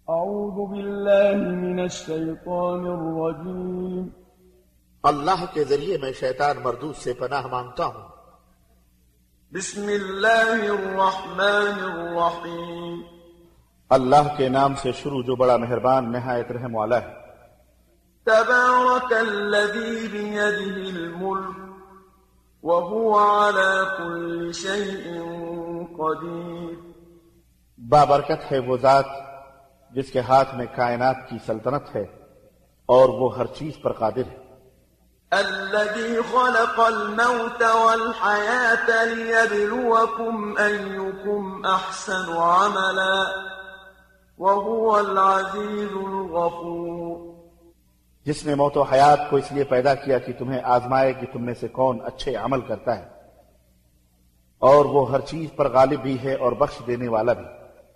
أعوذ بالله من الشيطان الرجيم اللہ کے ذریعے میں شیطان مردود سے پناہ مانگتا ہوں۔ بسم اللہ الرحمن الرحیم اللہ کے نام سے شروع جو بڑا مہربان نہایت رحم والا ہے۔ تبارک الذی بیدہ الملک وهو على كل شيء قدیر، بابرکت ہے وہ ذات جس کے ہاتھ میں کائنات کی سلطنت ہے اور وہ ہر چیز پر قادر ہے۔ الذي خلق الموت والحياة ليبلوكم أيكم أحسن عملا وهو العزيز الغفور، جس نے موت و حیات کو اس لیے پیدا کیا کہ تمہیں آزمائے کہ تم میں سے کون اچھے عمل کرتا ہے، اور وہ ہر چیز پر غالب بھی ہے اور بخش دینے والا بھی۔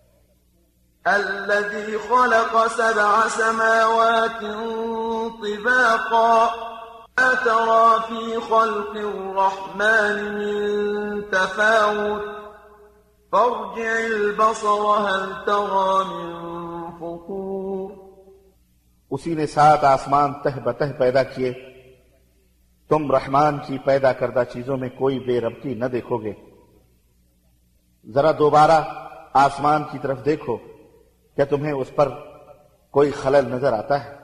الذي خلق 7 سماوات طباقا ما ترى في خلق الرحمن من تفاوت فارجع البصر هل ترى من فطور، اسی نے 7 آسمان تہ بتہ پیدا کیے، تم رحمان کی پیدا کردہ چیزوں میں کوئی بے ربطی نہ دیکھو گے، ذرا دوبارہ آسمان کی طرف دیکھو، کیا تمہیں اس پر کوئی خلل نظر آتا ہے؟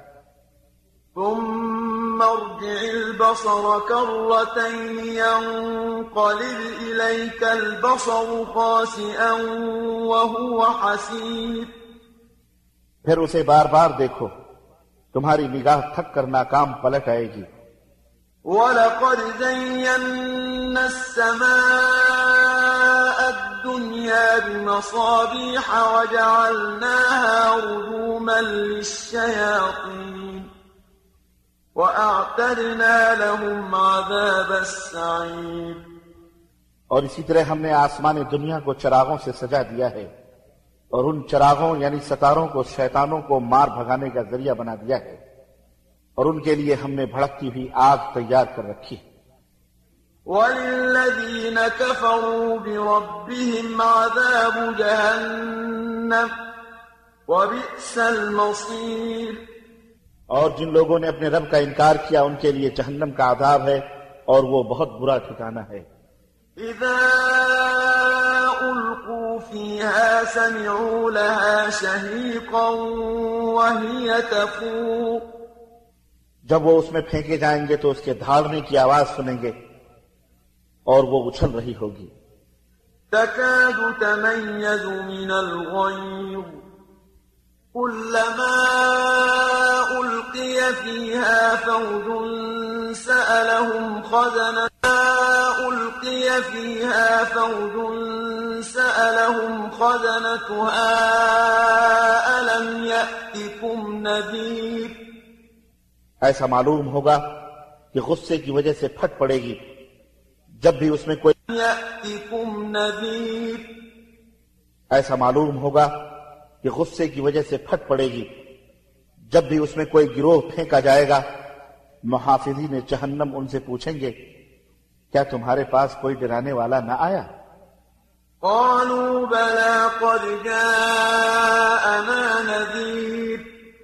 ثم ارجع البصر كرتين ينقلب إليك البصر خاسئا وهو حسير، پھر اسے بار بار دیکھو، تمہاری نگاہ تھک کر ناکام پلٹ آئے گی۔ وَلَقَدْ زَيَّنَّا السَّمَاءَ الدُّنْيَا بِمَصَابِيحَ وَجَعَلْنَاهَا رُجُومًا لِلشَّيَاطِينِ وَأَعْتَدْنَا لَهُمْ عَذَابَ السَّعِيرِ، اور اسی طرح ہم نے آسمان دنیا کو چراغوں سے سجا دیا ہے، اور ان چراغوں یعنی ستاروں کو شیطانوں کو مار بھگانے کا ذریعہ بنا دیا ہے، اور ان کے لیے ہم نے بھڑکتی ہوئی آگ تیار کر رکھی ہے۔ وَلِلَّذِينَ كَفَرُوا بِرَبِّهِمْ عَذَابُ جَهَنَّمَ وَبِئْسَ الْمَصِيرُ، اور جن لوگوں نے اپنے رب کا انکار کیا ان کے لیے جہنم کا عذاب ہے اور وہ بہت برا ٹھکانہ ہے۔ إِذَا أُلْقُوا فِيهَا سَمِعُوا لَهَا شَهِيقًا وَهِيَ تَفُورُ، جب وہ اس میں پھینکے جائیں گے تو اس کے دھاڑنے کی آواز سنیں گے اور وہ اچھل رہی ہوگی۔ تَكَادُ تَمَيَّزُ مِنَ الْغَيْظِ كُلَّمَا أُلْقِيَ فِيهَا فَوْجٌ سَأَلَهُمْ خَزَنَتُهَا أَلَمْ يَأْتِكُمْ نَذِيرٌ، ایسا معلوم ہوگا کہ غصے کی وجہ سے پھٹ پڑے گی جب بھی اس میں کوئی يَأْتِكُمْ نَذِيرٌ، ایسا معلوم ہوگا کہ غصے کی وجہ سے پھٹ پڑے گی جب بھی اس میں کوئی گروہ پھینکا جائے گا۔ محافظین جہنم ان سے پوچھیں گے کیا تمہارے پاس کوئی ڈرانے والا نہ آیا؟ قالوا بلى قد جاءنا نذير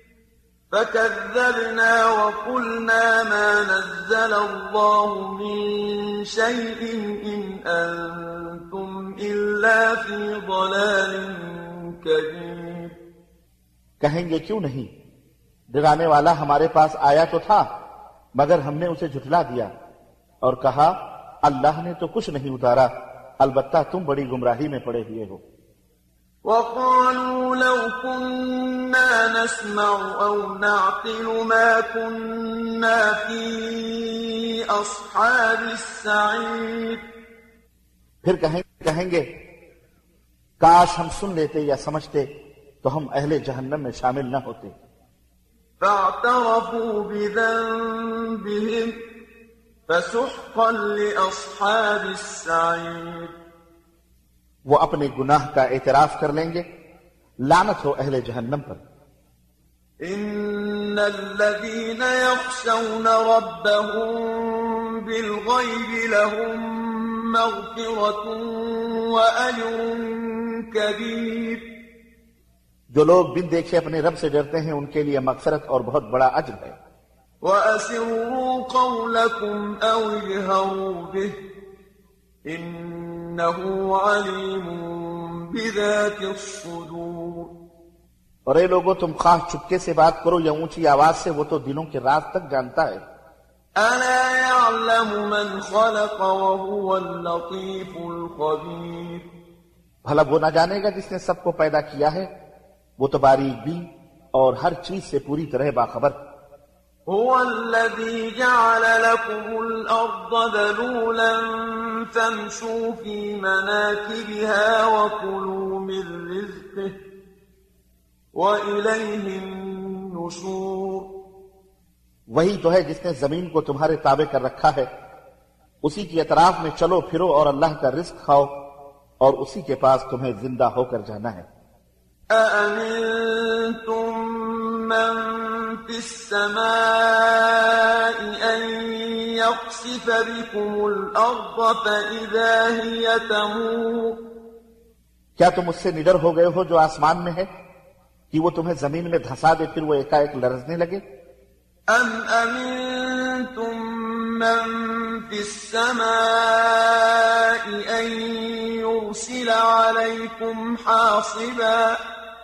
فكذبنا وقلنا ما نزل الله من شيء إن أنتم إلا في ضلال كبير، کہیں گے کیوں نہیں، ڈرانے والا ہمارے پاس آیا تو تھا مگر ہم نے اسے جھٹلا دیا، اور کہا اللہ نے تو کچھ نہیں اتارا، البتہ تم بڑی گمراہی میں پڑے ہوئے ہو۔ وقالوا لو كنا نسمع أو نعقل ما كنا في أصحاب السعير، پھر کہیں گے کاش ہم سن لیتے یا سمجھتے تو ہم اہل جہنم میں شامل نہ ہوتے۔ فاعترفوا بذنبهم فسحقا لأصحاب السعير، وہ اپنے گناہ کا اعتراف کر لیں گے، لعنت ہو اہل جہنم پر۔ إن الذين يخشون ربهم بالغيب لهم مغفرة وأجر كبير، جو لوگ بن دیکھے اپنے رب سے ڈرتے ہیں ان کے لیے مغفرت اور بہت بڑا اجر ہے۔ وَأَسِرُّوا قَوْلَكُمْ أَوْ اجْهَرُوا بِهِ إِنَّهُ عَلِيمٌ بِذَاتِ الصُّدُورِ۔ اور اے لوگو تم خواہ چپکے سے بات کرو یا اونچی آواز سے، وہ تو دلوں کے راز تک جانتا ہے۔ أَلَا يَعْلَمُ مَنْ خَلَقَ وَهُوَ اللَّطِيفُ الْخَبِيرُ۔ بھلا وہ نہ جانے گا جس نے سب کو پیدا کیا ہے، وہ تو باریک بین اور ہر چیز سے پوری طرح باخبر۔ هو الذي جعل لكم الأرض ذلولا فامشوا في مناكبها وكلوا من رزقه وإليه النشور۔ وہی تو ہے جس نے زمین کو تمہارے تابع کر رکھا ہے، اسی کی اطراف میں چلو پھرو اور اللہ کا رزق کھاؤ، اور اسی کے پاس تمہیں زندہ ہو کر جانا ہے۔ أَأَمِنتُم مَّن فِي السَّمَاءِ أَن يَخْسِفَ بِكُمُ الْأَرْضَ فَإِذَا هِيَ تَمُورُ۔ کیا تم اس سے نڈر ہو گئے ہو جو آسمان میں ہے کہ وہ تمہیں زمین میں دھسا دے پھر وہ ایک لرزنے لگے؟ أَمْ أَمِنتُم مَّن فِي السَّمَاءِ أَن يُرْسِلَ عَلَيْكُمْ حَاصِبًا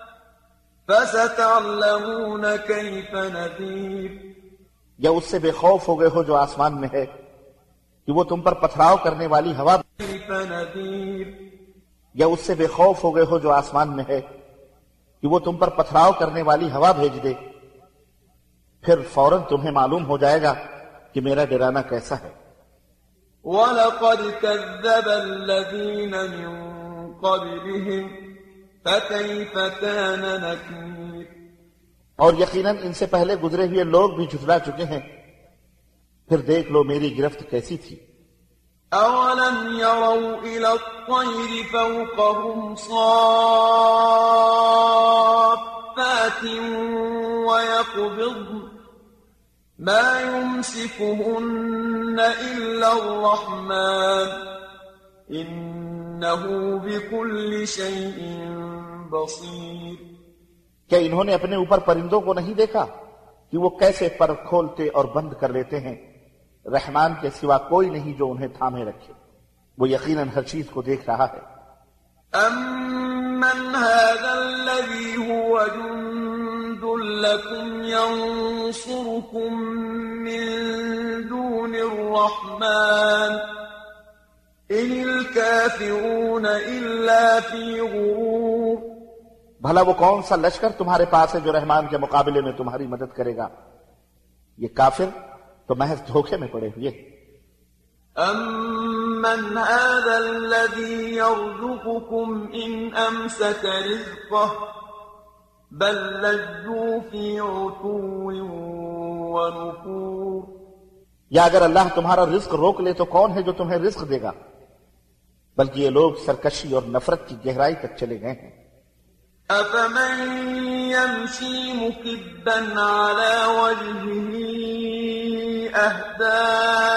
فَسَتَعْلَمُونَ كَيْفَ نَذِيرِ۔ یا اس سے بے خوف ہو گئے ہو جو آسمان میں ہے کہ وہ تم پر پتھراؤ کرنے والی ہوا، كَيْفَ نَذِيرِ۔ یا اس سے بے خوف ہو گئے ہو جو آسمان میں ہے کہ وہ تم پر پتھراؤ کرنے والی ہوا بھیج دے، پھر فوراً تمہیں معلوم ہو جائے گا کہ میرا ڈرانا کیسا ہے۔ وَلَقَدْ كَذَّبَ الَّذِينَ مِن قَبْلِهِمْ فَكَيْفَ كَانَ نَكِيرِ۔ اور یقیناً ان سے پہلے گزرے ہوئے لوگ بھی جھٹلا چکے ہیں، پھر دیکھ لو میری گرفت کیسی تھی۔ أَوَلَمْ يَرَوْا إِلَى الطَّيْرِ فَوْقَهُمْ صَافَّاتٍ وَيَقْبِضْنَ مَا يُمْسِكُهُنَّ إِلَّا الرَّحْمَنُ إِنَّهُ بِكُلِّ شَيْءٍ بَصِيرٌ۔ کیا انہوں نے اپنے اوپر پرندوں کو نہیں دیکھا کہ وہ کیسے پر کھولتے اور بند کر لیتے ہیں؟ رحمان کے سوا کوئی نہیں جو انہیں تھامے رکھے، وہ یقیناً ہر چیز کو دیکھ رہا ہے۔ أَمَّنْ هَذَا الَّذِي هُوَ جُندٌ لَكُمْ يَنصُرُكُم مِّن دُونِ الرَّحْمَنِ إِنِ الْكَافِرُونَ إِلَّا فِي غُرُورٍ۔ بھلا وہ کون سا لشکر تمہارے پاس ہے جو رحمان کے مقابلے میں تمہاری مدد کرے گا؟ یہ کافر تو محض دھوکے میں پڑے ہوئے۔ أَمَّنْ هَذَا الَّذِي يَرْزُقُكُمْ إِنْ أَمْسَكَ رِزْقَهُ بَل لَّجُّوا فِي عُتُوٍّ وَنُفُورٍ۔ یا اگر اللہ تمہارا رزق روک لے تو کون ہے جو تمہیں رزق دے گا؟ بلکہ یہ لوگ سرکشی اور نفرت کی گہرائی تک چلے گئے ہیں۔ أَفَمَن يَمْشِي مُكِبًّا عَلَى وَجْهِهِ أَهْدَىٰ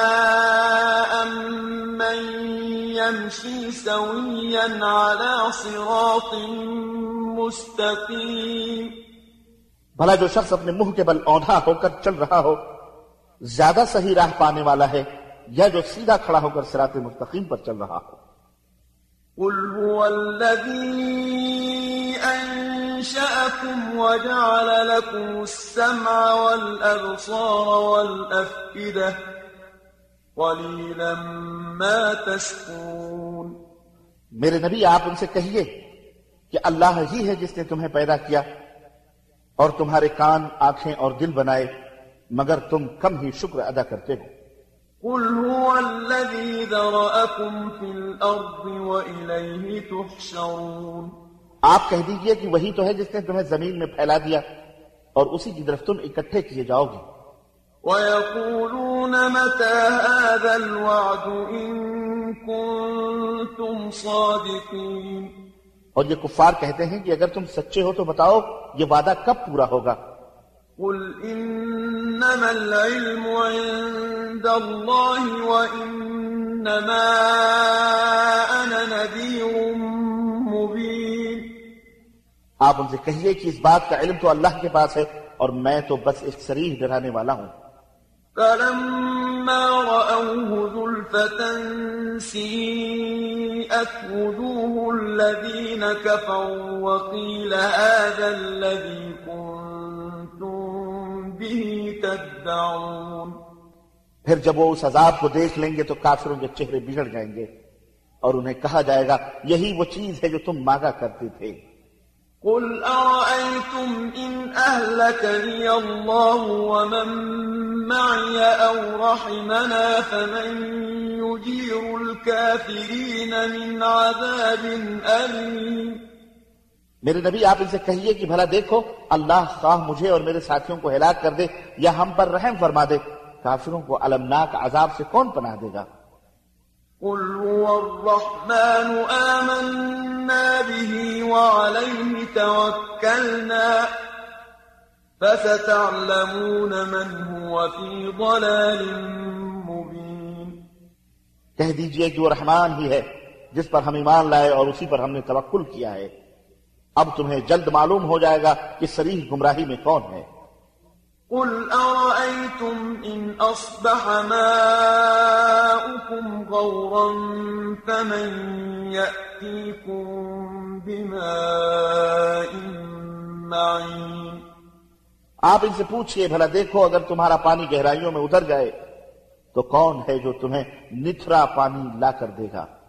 أَمَّن يَمْشِي سَوِيًّا عَلَى صِرَاطٍ مُّسْتَقِيمٍ۔ بھلا جو شخص اپنے منہ کے بل اوندھا ہو کر چل رہا ہو زیادہ صحیح راہ پانے والا ہے، یا جو سیدھا کھڑا ہو کر صراط مستقیم پر چل رہا ہو؟ قُلْ هُوَ الَّذِي أَنشَأَكُمْ وَجَعَلَ لَكُمُ السَّمْعَ وَالْأَبْصَارَ وَالْأَفْئِدَةَ قَلِيلًا مَا تَشْكُرُونَ۔ میرے نبی آپ ان سے کہیے کہ اللہ ہی ہے جس نے تمہیں پیدا کیا اور تمہارے کان، آنکھیں اور دل بنائے، مگر تم کم ہی شکر ادا کرتے ہو۔ قُلْ هُوَ الَّذِي ذَرَأَكُمْ فِي الْأَرْضِ وَإِلَيْهِ تُحْشَرُونَ۔ آپ کہہ دیجئے کہ وہی تو ہے جس نے تمہیں زمین میں پھیلا دیا اور اسی کی طرف تم اکٹھے کیے جاؤ گے۔ وَيَقُولُونَ مَتَىٰ هَٰذَا الْوَعْدُ إِن كُنتُمْ صَادِقِينَ۔ اور یہ کفار کہتے ہیں کہ اگر تم سچے ہو تو بتاؤ یہ وعدہ کب پورا ہوگا؟ قُلْ إِنَّمَا الْعِلْمُ عِندَ اللَّهِ وَإِنَّمَا أَنَا نَذِيرٌ مُّبِينٌ۔ آپ ان سے کہیے کہ اس بات کا علم تو اللہ کے پاس ہے اور میں تو بس ایک صریح ڈرانے والا ہوں۔ فلما رأوه زلفة سيئت وجوه الذين كفروا وقيل هذا الذي كنتم به تدعون۔ پھر جب وہ اس عذاب کو دیکھ لیں گے تو کافروں کے چہرے بگڑ جائیں گے اور انہیں کہا جائے گا یہی وہ چیز ہے جو تم مانگا کرتے تھے۔ قل أرأيتم إن أهلكني الله ومن معي أو رحمنا فمن يجير الكافرين من عذاب أليم۔ میرے نبی آپ ان سے کہیے کہ بھلا دیکھو اللہ خواہ مجھے اور میرے ساتھیوں کو ہلاک کر دے یا ہم پر رحم فرما دے، کافروں کو المناک عذاب سے کون پناہ دے گا؟ قل هو الرحمن آمنا به وعليه توكلنا فستعلمون من هو في ضلال مبين۔ کہہ دیجئے کہ وہ رحمان ہی ہے جس پر ہم ایمان لائے اور اسی پر ہم نے توکل کیا ہے، اب تمہیں جلد معلوم ہو جائے گا کہ صریح گمراہی میں کون ہے۔ قل أرأيتم إن أصبح ماؤكم غورا فمن يأتيكم بماء معين۔ آپ ان سے پوچھئے بھلا دیکھو اگر تمہارا پانی گہرائیوں میں اتر جائے تو کون ہے جو تمہیں نتھرا پانی لا کر دے گا؟